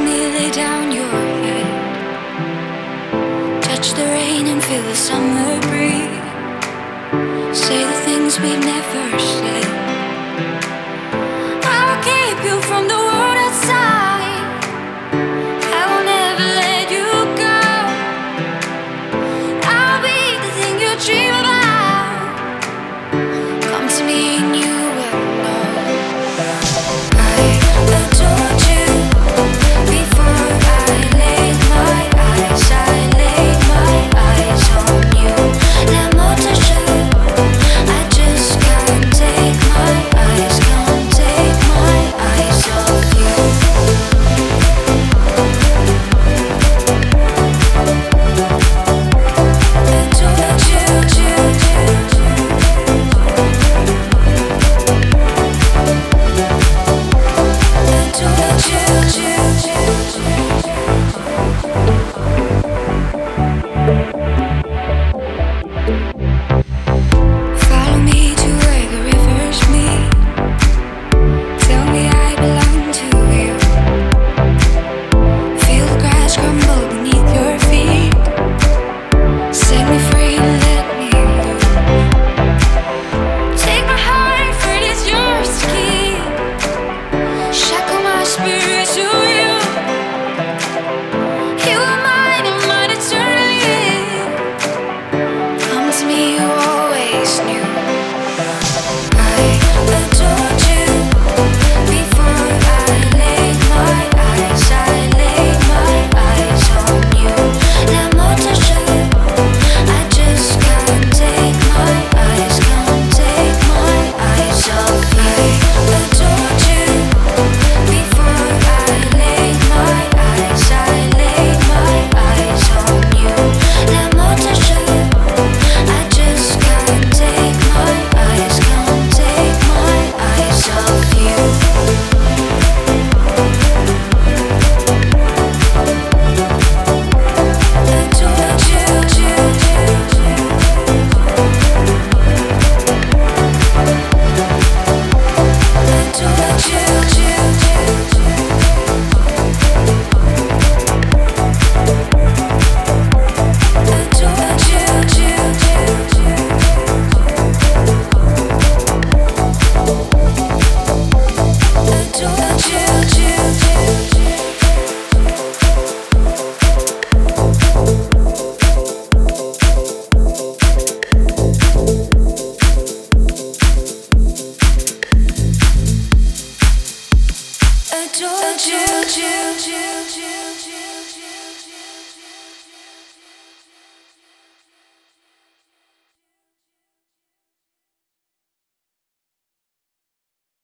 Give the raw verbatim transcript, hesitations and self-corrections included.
me lay down your head. Touch the rain and feel the summer breeze. Say the things we've never said. I'll keep you from the world outside. I will never let you go. I'll be the thing you dream about. Come to me and you will know. I adored you before I laid my eyes. I laid my eyes on you. La moto show. I just can't take my eyes, can't take my eyes off you. Adored you, you, you, adored you, you, you. Follow me to where the rivers meet. Tell me I belong to you. Feel the grass crumble beneath your feet. Set me free and let me loose. Take my heart, for it is yours to keep. Shackle my spirit to you. You are mine and mine eternally. Come to me, you always knew. I adored you before I laid my eyes. I laid my eyes on you. La moto show. I just can't take my eyes, can't take my eyes off you. I adored you before I laid my eyes. I laid my eyes on you. La moto show. I just can't take my eyes, can't take my eyes off you. Adored you, you, you, adored you, you, adored you, you, adored you, you, adored you, you, you, you.